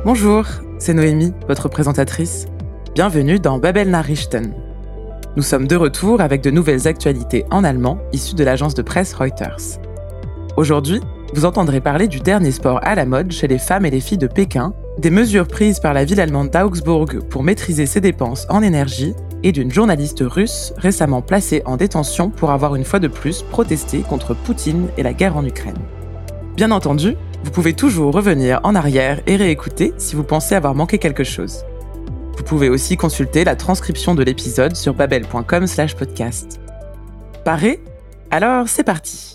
Bonjour, c'est Noémie, votre présentatrice. Bienvenue dans Babel Nachrichten. Nous sommes de retour avec de nouvelles actualités en allemand issues de l'agence de presse Reuters. Aujourd'hui, vous entendrez parler du dernier sport à la mode chez les femmes et les filles de Pékin, des mesures prises par la ville allemande d'Augsbourg pour maîtriser ses dépenses en énergie et d'une journaliste russe récemment placée en détention pour avoir une fois de plus protesté contre Poutine et la guerre en Ukraine. Bien entendu, vous pouvez toujours revenir en arrière et réécouter si vous pensez avoir manqué quelque chose. Vous pouvez aussi consulter la transcription de l'épisode sur babel.com/podcast. Paré ? Alors c'est parti.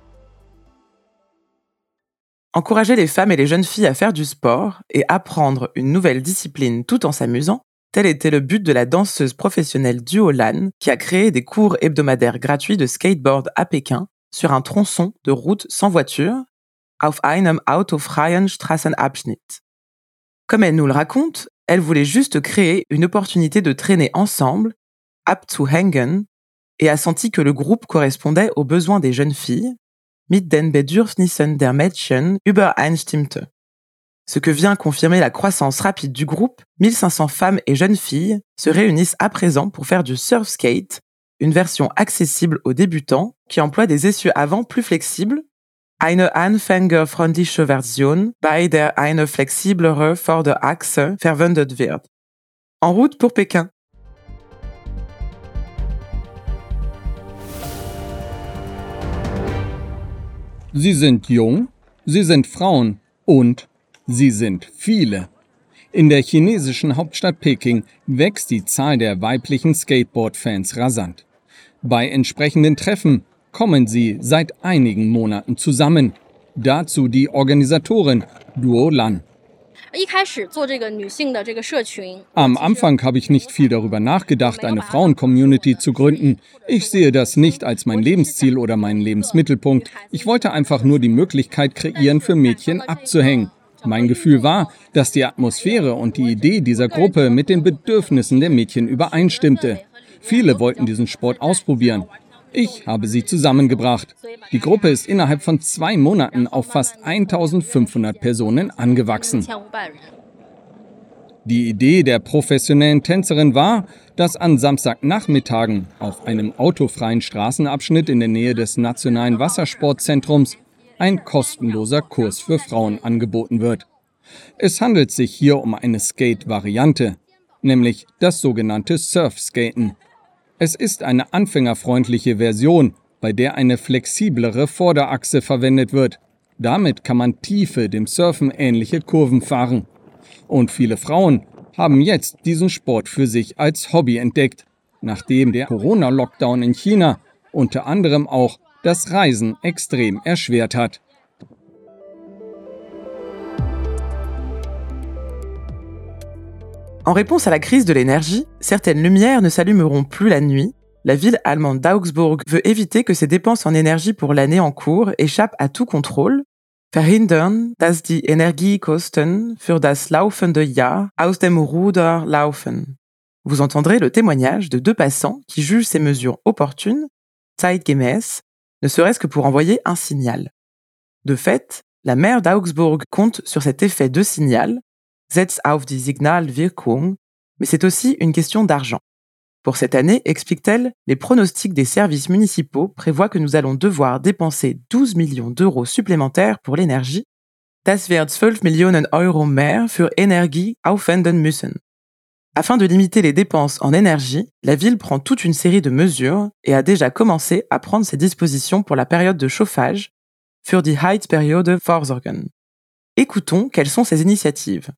Encourager les femmes et les jeunes filles à faire du sport et apprendre une nouvelle discipline tout en s'amusant, tel était le but de la danseuse professionnelle Duo Lan qui a créé des cours hebdomadaires gratuits de skateboard à Pékin sur un tronçon de route sans voiture, auf einem autofreien Straßenabschnitt. Comme elle nous le raconte, elle voulait juste créer une opportunité de traîner ensemble, abzuhängen, et a senti que le groupe correspondait aux besoins des jeunes filles, mit den Bedürfnissen der Mädchen übereinstimmte. Ce que vient confirmer la croissance rapide du groupe, 1500 femmes et jeunes filles se réunissent à présent pour faire du surfskate, une version accessible aux débutants qui emploie des essieux avant plus flexibles, eine anfängerfreundliche Version, bei der eine flexiblere Vorderachse verwendet wird. En route pour Pékin. Sie sind jung, sie sind Frauen und sie sind viele. In der chinesischen Hauptstadt Peking wächst die Zahl der weiblichen Skateboard-Fans rasant. Bei entsprechenden Treffen kommen sie seit einigen Monaten zusammen. Dazu die Organisatorin Duo Lan. Am Anfang habe ich nicht viel darüber nachgedacht, eine Frauen-Community zu gründen. Ich sehe das nicht als mein Lebensziel oder meinen Lebensmittelpunkt. Ich wollte einfach nur die Möglichkeit kreieren, für Mädchen abzuhängen. Mein Gefühl war, dass die Atmosphäre und die Idee dieser Gruppe mit den Bedürfnissen der Mädchen übereinstimmte. Viele wollten diesen Sport ausprobieren. Ich habe sie zusammengebracht. Die Gruppe ist innerhalb von 2 Monaten auf fast 1500 Personen angewachsen. Die Idee der professionellen Tänzerin war, dass an Samstagnachmittagen auf einem autofreien Straßenabschnitt in der Nähe des Nationalen Wassersportzentrums ein kostenloser Kurs für Frauen angeboten wird. Es handelt sich hier um eine Skate-Variante, nämlich das sogenannte Surfskaten. Es ist eine anfängerfreundliche Version, bei der eine flexiblere Vorderachse verwendet wird. Damit kann man tiefe, dem Surfen ähnliche Kurven fahren. Und viele Frauen haben jetzt diesen Sport für sich als Hobby entdeckt, nachdem der Corona-Lockdown in China unter anderem auch das Reisen extrem erschwert hat. En réponse à la crise de l'énergie, certaines lumières ne s'allumeront plus la nuit. La ville allemande d'Augsbourg veut éviter que ses dépenses en énergie pour l'année en cours échappent à tout contrôle. Verhindern, dass die Energiekosten für das laufende Jahr aus dem Ruder laufen. Vous entendrez le témoignage de 2 passants qui jugent ces mesures opportunes, zeitgemäß, ne serait-ce que pour envoyer un signal. De fait, la maire d'Augsbourg compte sur cet effet de signal, setzt auf die Signalwirkung, mais c'est aussi une question d'argent. Pour cette année, explique-t-elle, les pronostics des services municipaux prévoient que nous allons devoir dépenser 12 millions d'euros supplémentaires pour l'énergie. Das wird 12 Millionen Euro mehr für Energie aufwenden müssen. Afin de limiter les dépenses en énergie, la ville prend toute une série de mesures et a déjà commencé à prendre ses dispositions pour la période de chauffage, für die Heizperiode vorsorgen. Écoutons quelles sont ces initiatives.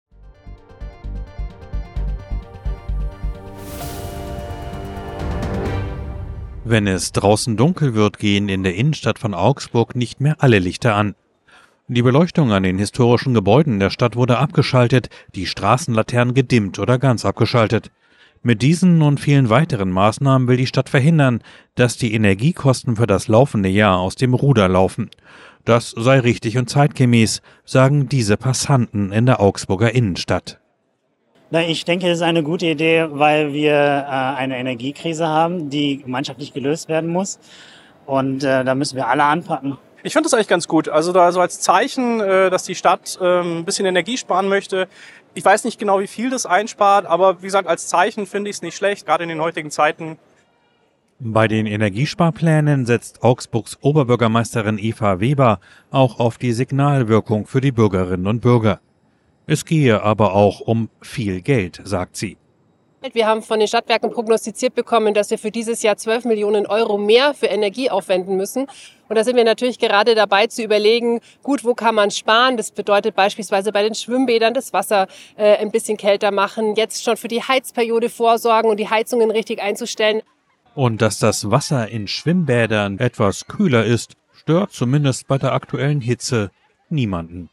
Wenn es draußen dunkel wird, gehen in der Innenstadt von Augsburg nicht mehr alle Lichter an. Die Beleuchtung an den historischen Gebäuden der Stadt wurde abgeschaltet, die Straßenlaternen gedimmt oder ganz abgeschaltet. Mit diesen und vielen weiteren Maßnahmen will die Stadt verhindern, dass die Energiekosten für das laufende Jahr aus dem Ruder laufen. Das sei richtig und zeitgemäß, sagen diese Passanten in der Augsburger Innenstadt. Ich denke, das ist eine gute Idee, weil wir eine Energiekrise haben, die gemeinschaftlich gelöst werden muss. Und da müssen wir alle anpacken. Ich finde das eigentlich ganz gut. Also da so als Zeichen, dass die Stadt ein bisschen Energie sparen möchte. Ich weiß nicht genau, wie viel das einspart, aber wie gesagt, als Zeichen finde ich es nicht schlecht, gerade in den heutigen Zeiten. Bei den Energiesparplänen setzt Augsburgs Oberbürgermeisterin Eva Weber auch auf die Signalwirkung für die Bürgerinnen und Bürger. Es gehe aber auch um viel Geld, sagt sie. Wir haben von den Stadtwerken prognostiziert bekommen, dass wir für dieses Jahr 12 Millionen Euro mehr für Energie aufwenden müssen. Und da sind wir natürlich gerade dabei zu überlegen, gut, wo kann man sparen? Das bedeutet beispielsweise bei den Schwimmbädern das Wasser ein bisschen kälter machen, jetzt schon für die Heizperiode vorsorgen und die Heizungen richtig einzustellen. Und dass das Wasser in Schwimmbädern etwas kühler ist, stört zumindest bei der aktuellen Hitze niemanden.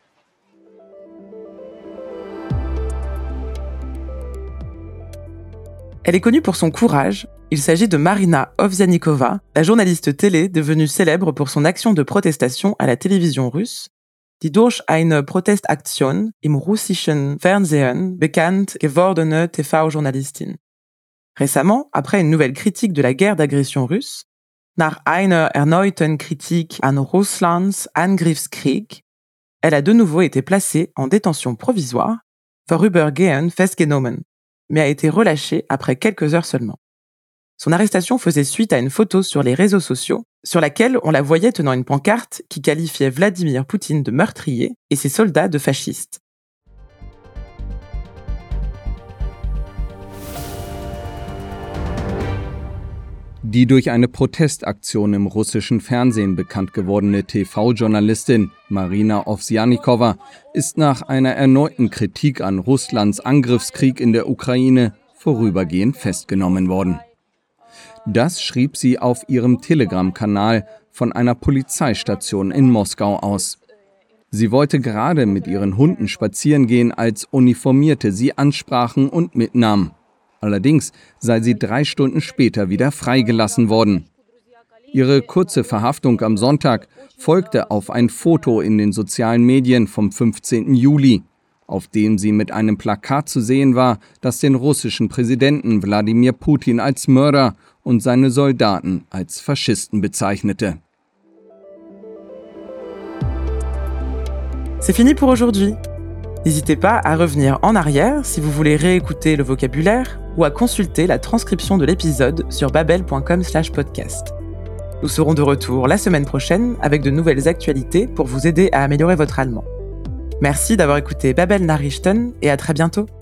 Elle est connue pour son courage. Il s'agit de Marina Ovsianikova, la journaliste télé devenue célèbre pour son action de protestation à la télévision russe, die durch eine Protestaktion im russischen Fernsehen bekannt gewordene TV-Journalistin. Récemment, après une nouvelle critique de la guerre d'agression russe, nach einer erneuten Kritik an Russlands Angriffskrieg, elle a de nouveau été placée en détention provisoire, vorübergehend festgenommen, mais a été relâchée après quelques heures seulement. Son arrestation faisait suite à une photo sur les réseaux sociaux, sur laquelle on la voyait tenant une pancarte qui qualifiait Vladimir Poutine de meurtrier et ses soldats de fascistes. Die durch eine Protestaktion im russischen Fernsehen bekannt gewordene TV-Journalistin Marina Ovsjanikova ist nach einer erneuten Kritik an Russlands Angriffskrieg in der Ukraine vorübergehend festgenommen worden. Das schrieb sie auf ihrem Telegram-Kanal von einer Polizeistation in Moskau aus. Sie wollte gerade mit ihren Hunden spazieren gehen, als Uniformierte sie ansprachen und mitnahmen. Allerdings sei sie 3 Stunden später wieder freigelassen worden. Ihre kurze Verhaftung am Sonntag folgte auf ein Foto in den sozialen Medien vom 15. Juli, auf dem sie mit einem Plakat zu sehen war, das den russischen Präsidenten Wladimir Putin als Mörder und seine Soldaten als Faschisten bezeichnete. C'est fini pour aujourd'hui. N'hésitez pas à revenir en arrière si vous voulez réécouter le vocabulaire ou à consulter la transcription de l'épisode sur babel.com/podcast. Nous serons de retour la semaine prochaine avec de nouvelles actualités pour vous aider à améliorer votre allemand. Merci d'avoir écouté Babel Nachrichten et à très bientôt.